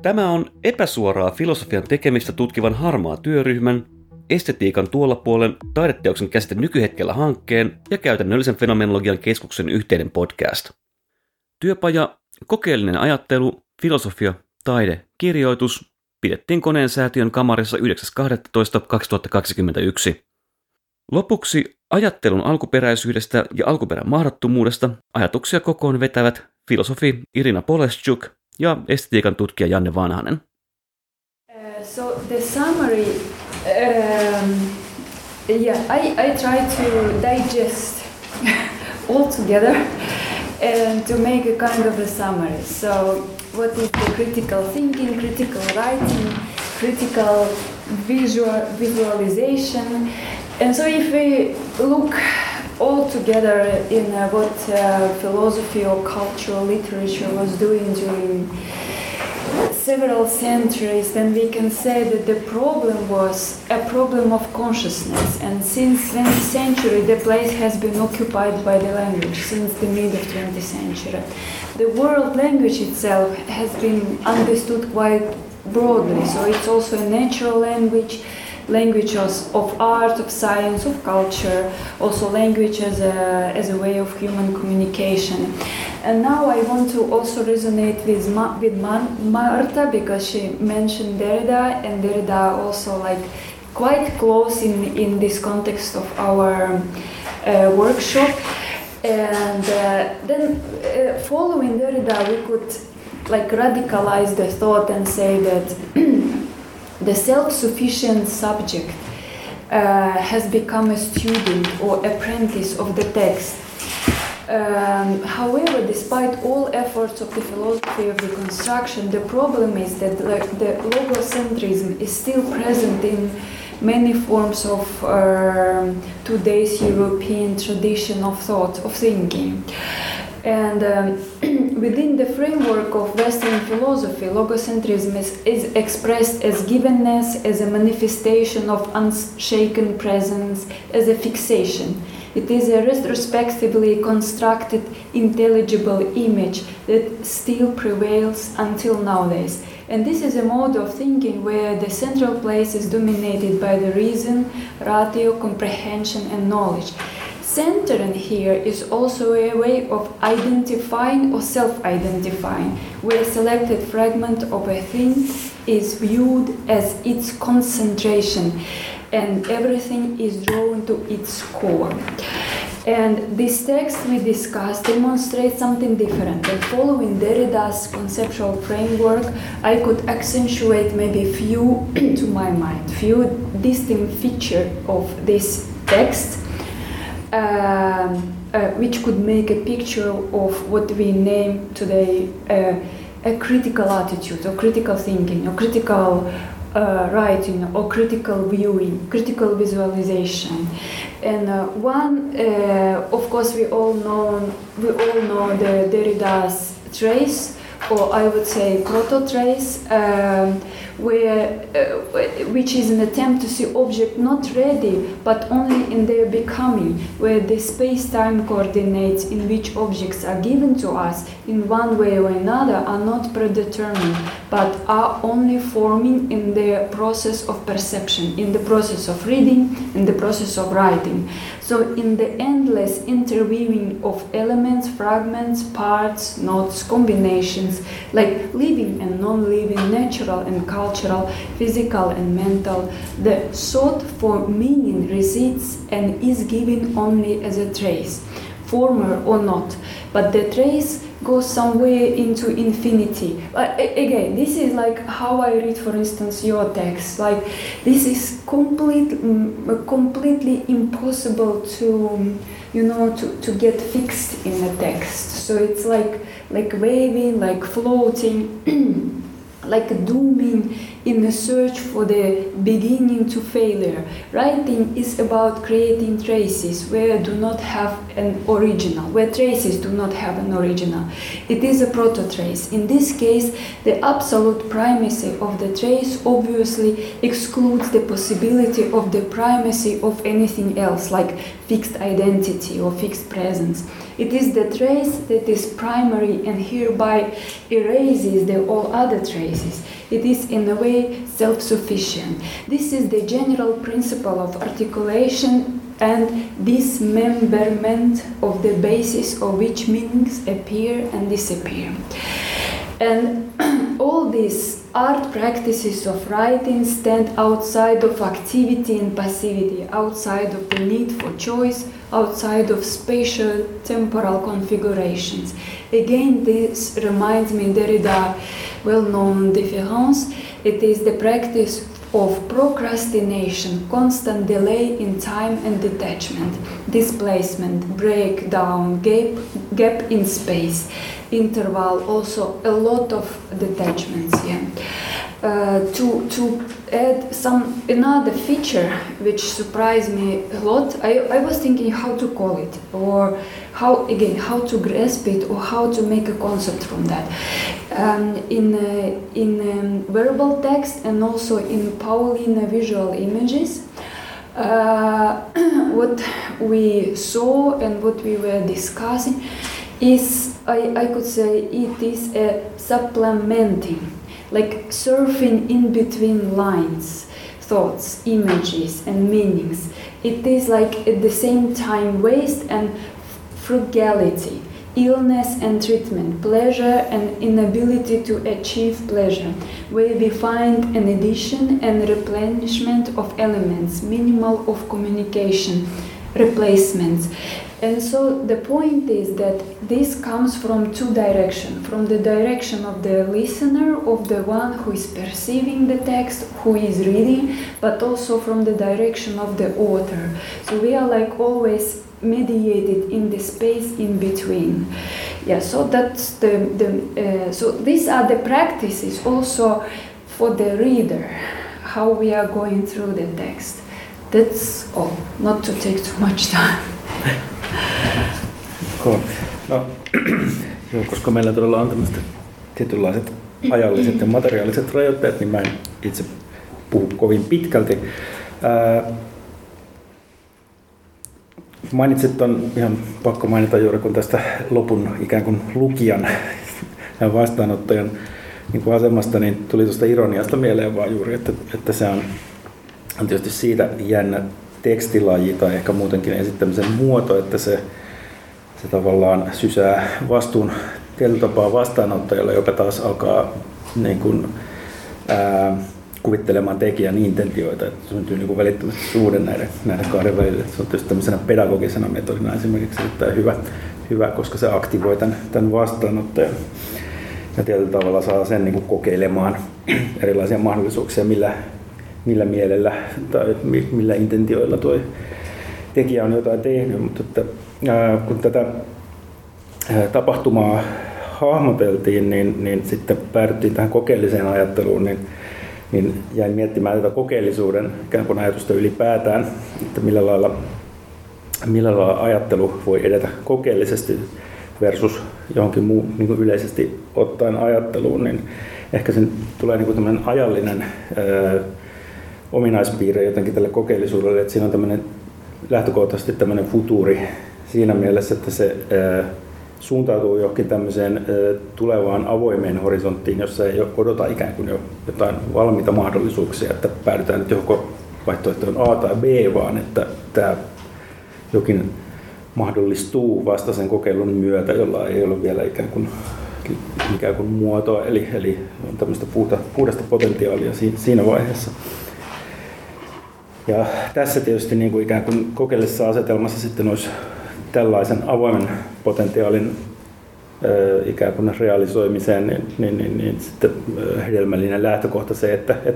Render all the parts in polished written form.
Tämä on epäsuoraa filosofian tekemistä tutkivan harmaa työryhmän, estetiikan tuolla puolen taideteoksen käsite nykyhetkellä hankkeen ja käytännöllisen fenomenologian keskuksen yhteinen podcast. Työpaja, kokeellinen ajattelu, filosofia, taide, kirjoitus pidettiin Koneen säätiön kamarissa 9.12.2021. Lopuksi ajattelun alkuperäisyydestä ja alkuperän mahdottomuudesta ajatuksia kokoon vetävät filosofi Irina Poleshchuk ja estetiikan tutkija Janne Vanhanen. So the summary, I try to digest all together and to make a kind of a summary. So what is the critical thinking, critical writing, critical visualization? And so if we look all together in what philosophy or cultural literature was doing during several centuries, then we can say that the problem was a problem of consciousness. And since 20th century, the place has been occupied by the language, since the mid of 20th century. The world language itself has been understood quite broadly, so it's also a natural language, languages of art, of science, of culture, also language as a way of human communication. And now I want to also resonate with Marta, because she mentioned Derrida, and Derrida also like quite close in this context of our workshop. And then following Derrida, we could like radicalize the thought and say that the self-sufficient subject has become a student or apprentice of the text. However, despite all efforts of the philosophy of reconstruction, the problem is that the logocentrism is still present in many forms of today's European tradition of thought, of thinking. And within the framework of Western philosophy, logocentrism is expressed as givenness, as a manifestation of unshaken presence, as a fixation. It is a retrospectively constructed, intelligible image that still prevails until nowadays. And this is a mode of thinking where the central place is dominated by the reason, ratio, comprehension, and knowledge. Centering here is also a way of identifying or self-identifying, where a selected fragment of a thing is viewed as its concentration, and everything is drawn to its core. And this text we discussed demonstrates something different. And following Derrida's conceptual framework, I could accentuate maybe few, to my mind, few distinct features of this text, which could make a picture of what we name today a critical attitude, or critical thinking, or critical writing, or critical viewing, critical visualization. And one, of course, we all know the Derrida's trace, or I would say proto-trace, which is an attempt to see object not ready, but only in their becoming, where the space-time coordinates in which objects are given to us in one way or another are not predetermined, but are only forming in the process of perception, in the process of reading, in the process of writing. So in the endless interweaving of elements, fragments, parts, notes, combinations, like living and non-living, natural and cultural, physical and mental, the sought for meaning resides and is given only as a trace, former or not, but the trace goes somewhere into infinity. Again, this is like how I read, for instance, your text. Like, this is completely impossible to, to get fixed in a text. So it's like waving, like floating, like dooming in the search for the beginning to failure. Writing is about creating traces where do not have an original, where traces do not have an original. It is a proto-trace. In this case, the absolute primacy of the trace obviously excludes the possibility of the primacy of anything else, like fixed identity or fixed presence. It is the trace that is primary and hereby erases all other traces. It is in a way self-sufficient. This is the general principle of articulation and dismemberment of the basis of which meanings appear and disappear. And all these art practices of writing stand outside of activity and passivity, outside of the need for choice, outside of spatial temporal configurations. Again, this reminds me Derrida's well-known différance. It is the practice of procrastination, constant delay in time and detachment, displacement, breakdown, gap in space, interval, also a lot of detachments here. To add another feature which surprised me a lot, I was thinking how to call it, or how to grasp it, or how to make a concept from that. In verbal text and also in Paulina visual images, what we saw and what we were discussing is, I could say, it is a supplementing, like surfing in between lines, thoughts, images and meanings. It is like at the same time waste and frugality, illness and treatment, pleasure and inability to achieve pleasure, where we find an addition and replenishment of elements, minimal of communication, replacements. And so the point is that this comes from two directions, from the direction of the listener, of the one who is perceiving the text, who is reading, but also from the direction of the author. So we are like always mediated in the space in between. Yeah, so that's so these are the practices also for the reader, how we are going through the text. That's all, not to take too much time. Cool. No, joo, koska meillä todella on tämmöiset tietynlaiset ajalliset ja materiaaliset rajoitteet, niin mä en itse puhu kovin pitkälti. Mainitsit on ihan pakko mainita juuri kun tästä lopun ikään kuin lukijan ja vastaanottajan niin kuin asemasta, niin tuli tuosta ironiasta mieleen vaan juuri, että se on tietysti siitä jännä tekstilaji tai ehkä muutenkin esittämisen muoto, että se tavallaan sysää vastuun tietyllä tapaa vastaanottajalle, joka taas alkaa niin kuin, kuvittelemaan tekijän intentioita, että syntyy niin kuin välittömästi suhde näiden kahden välillä. Se on tietysti tämmöisenä pedagogisena metodina esimerkiksi erittäin hyvä, koska se aktivoi tämän vastaanottajan ja tietyllä tavalla saa sen niin kuin kokeilemaan erilaisia mahdollisuuksia, millä mielellä tai millä intentioilla tuo tekijä on jotain tehnyt, mutta että, kun tätä tapahtumaa hahmoteltiin, niin sitten päädyttiin tähän kokeelliseen ajatteluun, niin jäin miettimään tätä kokeellisuuden ikään kuin ajatusta ylipäätään, että millä lailla ajattelu voi edetä kokeellisesti versus johonkin muu niin kuin yleisesti ottaen ajatteluun, niin ehkä sen tulee niin kuin tämmöinen ajallinen ominaispiirre jotenkin tälle kokeellisuudelle, että siinä on tämmöinen lähtökohtaisesti tämmöinen futuuri siinä mielessä, että se suuntautuu johonkin tämmöiseen tulevaan avoimeen horisonttiin, jossa ei odota ikään kuin jo jotain valmiita mahdollisuuksia, että päädytään nyt johonkin vaihtoehtoon A tai B, vaan että tämä jokin mahdollistuu vasta sen kokeilun myötä, jolla ei ole vielä ikään kuin muotoa, eli on tämmöistä puhdasta potentiaalia siinä vaiheessa. Ja tässä tietysti niin kuin ikään kuin kokeellisessa asetelmassa sitten olisi tällaisen avoimen potentiaalin ikään kuin realisoimiseen, niin sitten hedelmällinen lähtökohta se,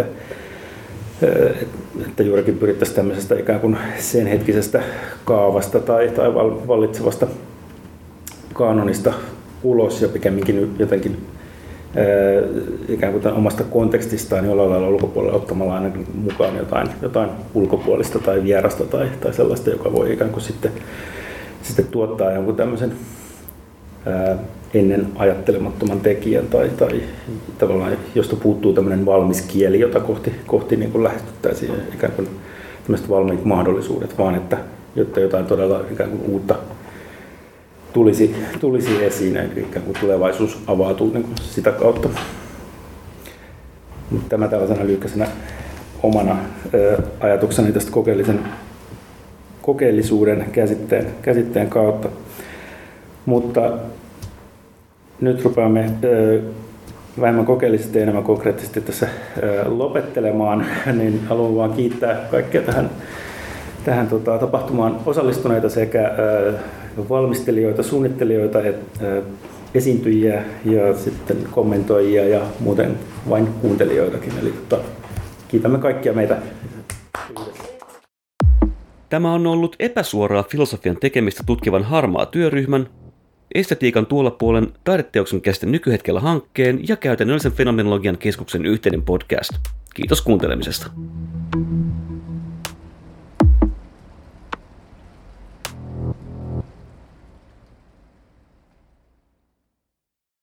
että juurikin pyrittäisiin tämmöisestä ikään kuin sen hetkisestä kaavasta tai vallitsevasta kaanonista ulos ja pikemminkin jotenkin ikään kuin omasta kontekstistaan jollain lailla ulkopuolella ottamalla aina mukaan jotain ulkopuolista tai vierasta tai sellaista, joka voi ikään kuin sitten tuottaa jonkun tämmöisen ennen ajattelemattoman tekijän tai tavallaan josta puuttuu tämmöinen valmis kieli, jota kohti niin kuin lähestyttäisiin ikään kuin tämmöiset valmiit mahdollisuudet, vaan että jotta jotain todella ikään kuin uutta tulisi esiin, eli ikään kuin tulevaisuus avautuu niin kuin sitä kautta. Tämä tällaisena lyhkäisenä omana ajatukseni tästä kokeellisuuden käsitteen kautta. Mutta nyt rupeamme vähemmän kokeellisesti ja enemmän konkreettisesti tässä lopettelemaan, niin haluan vaan kiittää kaikkia tähän tapahtumaan osallistuneita sekä valmistelijoita, suunnittelijoita, esiintyjiä ja sitten kommentoijia ja muuten vain kuuntelijoitakin. Eli kiitämme kaikkia meitä yhdessä. Tämä on ollut epäsuoraa filosofian tekemistä tutkivan harmaa työryhmän, estetiikan tuolla puolen taideteoksen käsite nykyhetkellä hankkeen ja käytännöllisen fenomenologian keskuksen yhteinen podcast. Kiitos kuuntelemisesta.